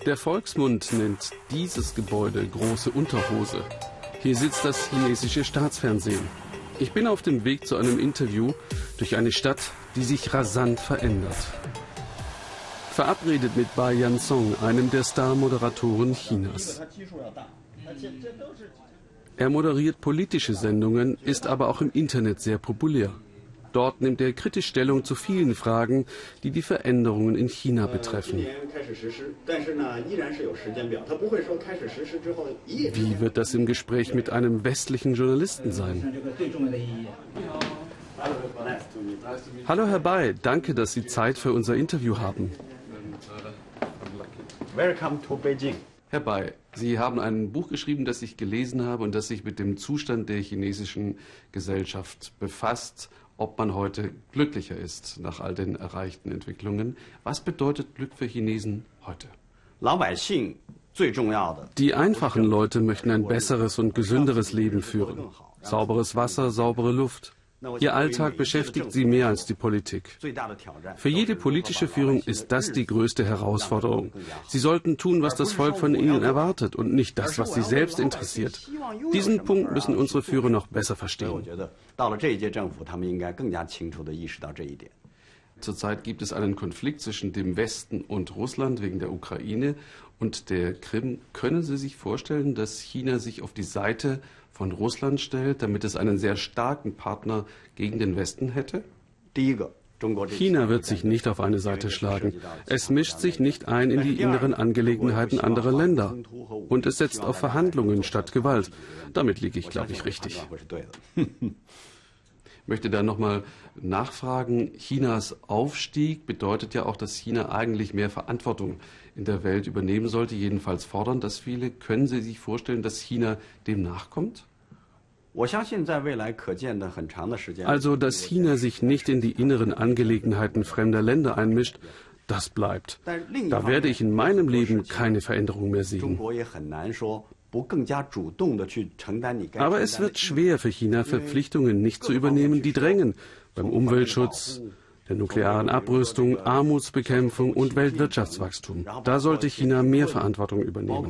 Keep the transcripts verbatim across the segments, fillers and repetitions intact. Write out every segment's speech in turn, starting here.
Der Volksmund nennt dieses Gebäude große Unterhose. Hier sitzt das chinesische Staatsfernsehen. Ich bin auf dem Weg zu einem Interview durch eine Stadt, die sich rasant verändert. Verabredet mit Bai Yansong, einem der Star-Moderatoren Chinas. Er moderiert politische Sendungen, ist aber auch im Internet sehr populär. Dort nimmt er kritisch Stellung zu vielen Fragen, die die Veränderungen in China betreffen. Wie wird das im Gespräch mit einem westlichen Journalisten sein? Hallo Herr Bai, danke, dass Sie Zeit für unser Interview haben. Welcome to Beijing. Herr Bai, Sie haben ein Buch geschrieben, das ich gelesen habe und das sich mit dem Zustand der chinesischen Gesellschaft befasst, ob man heute glücklicher ist nach all den erreichten Entwicklungen. Was bedeutet Glück für Chinesen heute? Die einfachen Leute möchten ein besseres und gesünderes Leben führen. Sauberes Wasser, saubere Luft. Ihr Alltag beschäftigt sie mehr als die Politik. Für jede politische Führung ist das die größte Herausforderung. Sie sollten tun, was das Volk von ihnen erwartet und nicht das, was sie selbst interessiert. Diesen Punkt müssen unsere Führer noch besser verstehen. Zurzeit gibt es einen Konflikt zwischen dem Westen und Russland wegen der Ukraine und der Krim. Können Sie sich vorstellen, dass China sich auf die Seite von Russland stellt, damit es einen sehr starken Partner gegen den Westen hätte? China wird sich nicht auf eine Seite schlagen. Es mischt sich nicht ein in die inneren Angelegenheiten anderer Länder. Und es setzt auf Verhandlungen statt Gewalt. Damit liege ich, glaube ich, richtig. Ich möchte da nochmal nachfragen, Chinas Aufstieg bedeutet ja auch, dass China eigentlich mehr Verantwortung in der Welt übernehmen sollte, jedenfalls fordern das viele. Können Sie sich vorstellen, dass China dem nachkommt? Also, dass China sich nicht in die inneren Angelegenheiten fremder Länder einmischt, das bleibt. Da werde ich in meinem Leben keine Veränderung mehr sehen. Aber es wird schwer für China, Verpflichtungen nicht zu übernehmen, die drängen. Beim Umweltschutz, der nuklearen Abrüstung, Armutsbekämpfung und Weltwirtschaftswachstum. Da sollte China mehr Verantwortung übernehmen.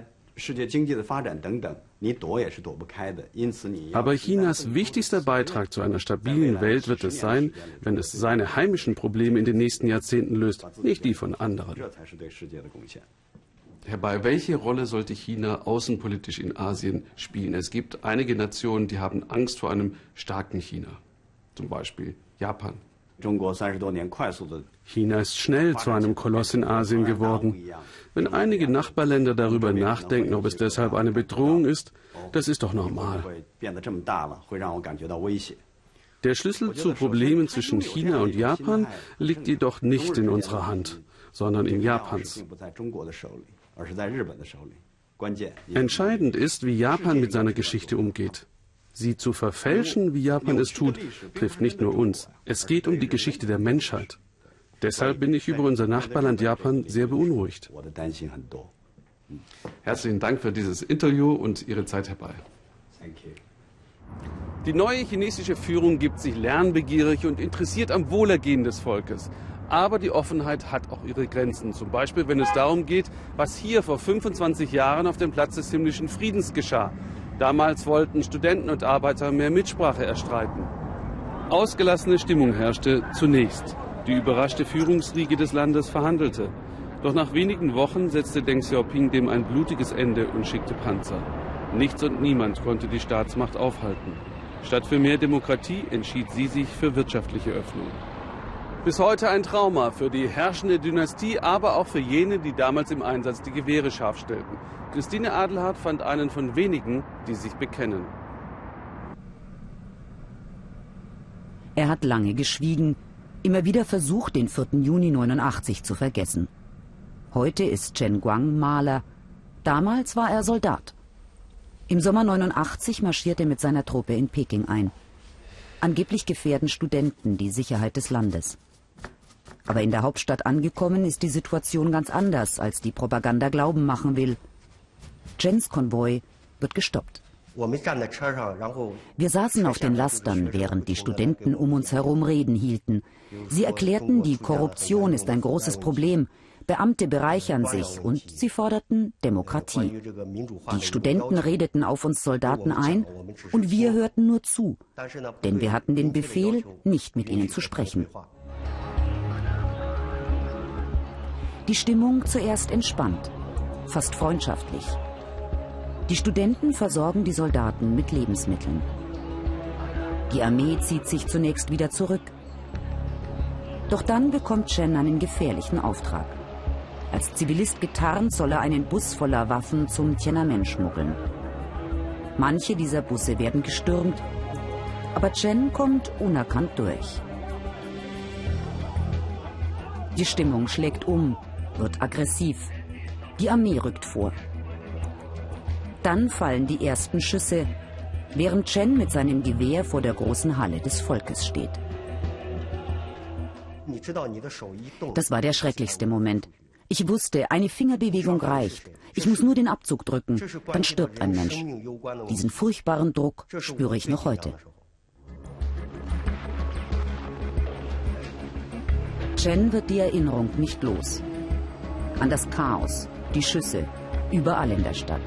Aber Chinas wichtigster Beitrag zu einer stabilen Welt wird es sein, wenn es seine heimischen Probleme in den nächsten Jahrzehnten löst, nicht die von anderen. Herr Bai, welche Rolle sollte China außenpolitisch in Asien spielen? Es gibt einige Nationen, die haben Angst vor einem starken China, zum Beispiel Japan. China ist schnell zu einem Koloss in Asien geworden. Wenn einige Nachbarländer darüber nachdenken, ob es deshalb eine Bedrohung ist, das ist doch normal. Der Schlüssel zu Problemen zwischen China und Japan liegt jedoch nicht in unserer Hand, sondern in Japans. Entscheidend ist, wie Japan mit seiner Geschichte umgeht. Sie zu verfälschen, wie Japan es tut, trifft nicht nur uns. Es geht um die Geschichte der Menschheit. Deshalb bin ich über unser Nachbarland Japan sehr beunruhigt. Herzlichen Dank für dieses Interview und Ihre Zeit, Herr Bai. Die neue chinesische Führung gibt sich lernbegierig und interessiert am Wohlergehen des Volkes. Aber die Offenheit hat auch ihre Grenzen. Zum Beispiel, wenn es darum geht, was hier vor fünfundzwanzig Jahren auf dem Platz des himmlischen Friedens geschah. Damals wollten Studenten und Arbeiter mehr Mitsprache erstreiten. Ausgelassene Stimmung herrschte zunächst. Die überraschte Führungsriege des Landes verhandelte. Doch nach wenigen Wochen setzte Deng Xiaoping dem ein blutiges Ende und schickte Panzer. Nichts und niemand konnte die Staatsmacht aufhalten. Statt für mehr Demokratie entschied sie sich für wirtschaftliche Öffnung. Bis heute ein Trauma für die herrschende Dynastie, aber auch für jene, die damals im Einsatz die Gewehre scharf stellten. Christine Adelhardt fand einen von wenigen, die sich bekennen. Er hat lange geschwiegen, immer wieder versucht, den vierten Juni neunundachtzig zu vergessen. Heute ist Chen Guang Maler. Damals war er Soldat. Im Sommer neunundachtzig marschiert er mit seiner Truppe in Peking ein. Angeblich gefährden Studenten die Sicherheit des Landes. Aber in der Hauptstadt angekommen ist die Situation ganz anders, als die Propaganda glauben machen will. Chens Konvoi wird gestoppt. Wir saßen auf den Lastern, während die Studenten um uns herum Reden hielten. Sie erklärten, die Korruption ist ein großes Problem. Beamte bereichern sich und sie forderten Demokratie. Die Studenten redeten auf uns Soldaten ein und wir hörten nur zu, denn wir hatten den Befehl, nicht mit ihnen zu sprechen. Die Stimmung zuerst entspannt, fast freundschaftlich. Die Studenten versorgen die Soldaten mit Lebensmitteln. Die Armee zieht sich zunächst wieder zurück. Doch dann bekommt Chen einen gefährlichen Auftrag. Als Zivilist getarnt soll er einen Bus voller Waffen zum Tiananmen schmuggeln. Manche dieser Busse werden gestürmt, aber Chen kommt unerkannt durch. Die Stimmung schlägt um, wird aggressiv. Die Armee rückt vor. Dann fallen die ersten Schüsse, während Chen mit seinem Gewehr vor der großen Halle des Volkes steht. Das war der schrecklichste Moment. Ich wusste, eine Fingerbewegung reicht. Ich muss nur den Abzug drücken, dann stirbt ein Mensch. Diesen furchtbaren Druck spüre ich noch heute. Chen wird die Erinnerung nicht los. An das Chaos, die Schüsse, überall in der Stadt.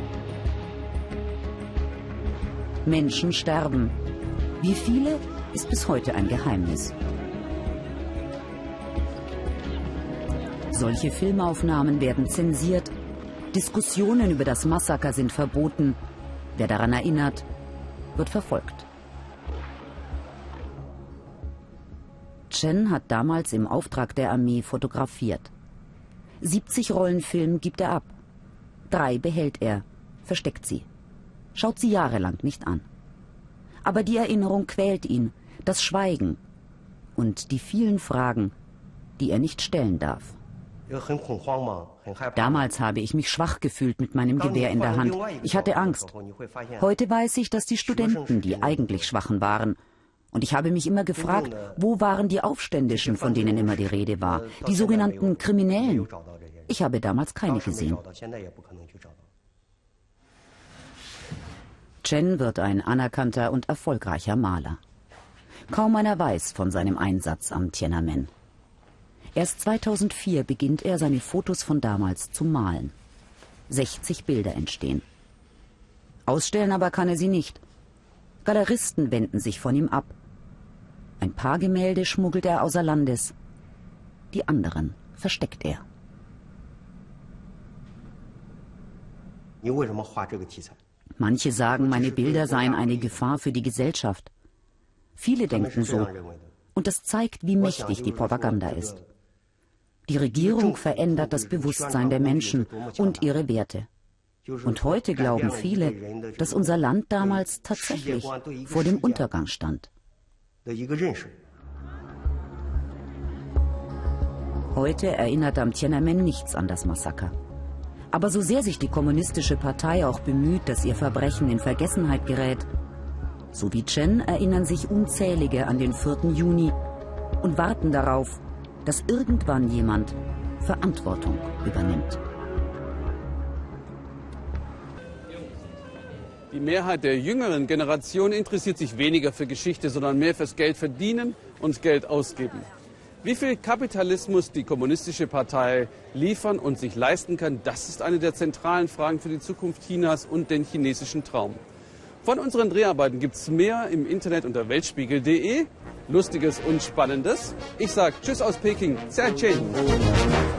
Menschen sterben. Wie viele, ist bis heute ein Geheimnis. Solche Filmaufnahmen werden zensiert. Diskussionen über das Massaker sind verboten. Wer daran erinnert, wird verfolgt. Chen hat damals im Auftrag der Armee fotografiert. siebzig Rollen Film gibt er ab. Drei behält er, versteckt sie. Schaut sie jahrelang nicht an. Aber die Erinnerung quält ihn, das Schweigen und die vielen Fragen, die er nicht stellen darf. Damals habe ich mich schwach gefühlt mit meinem Gewehr in der Hand. Ich hatte Angst. Heute weiß ich, dass die Studenten die eigentlich Schwachen waren. Und ich habe mich immer gefragt, wo waren die Aufständischen, von denen immer die Rede war? Die sogenannten Kriminellen. Ich habe damals keine gesehen. Chen wird ein anerkannter und erfolgreicher Maler. Kaum einer weiß von seinem Einsatz am Tiananmen. Erst zweitausendvier beginnt er, seine Fotos von damals zu malen. sechzig Bilder entstehen. Ausstellen aber kann er sie nicht. Galeristen wenden sich von ihm ab. Ein paar Gemälde schmuggelt er außer Landes. Die anderen versteckt er. Manche sagen, meine Bilder seien eine Gefahr für die Gesellschaft. Viele denken so. Und das zeigt, wie mächtig die Propaganda ist. Die Regierung verändert das Bewusstsein der Menschen und ihre Werte. Und heute glauben viele, dass unser Land damals tatsächlich vor dem Untergang stand. Heute erinnert am Tiananmen nichts an das Massaker. Aber so sehr sich die Kommunistische Partei auch bemüht, dass ihr Verbrechen in Vergessenheit gerät, so wie Chen erinnern sich Unzählige an den vierten Juni und warten darauf, dass irgendwann jemand Verantwortung übernimmt. Die Mehrheit der jüngeren Generation interessiert sich weniger für Geschichte, sondern mehr fürs Geld verdienen und Geld ausgeben. Wie viel Kapitalismus die Kommunistische Partei liefern und sich leisten kann, das ist eine der zentralen Fragen für die Zukunft Chinas und den chinesischen Traum. Von unseren Dreharbeiten gibt es mehr im Internet unter weltspiegel punkt de. Lustiges und Spannendes. Ich sage Tschüss aus Peking. Zai Chen.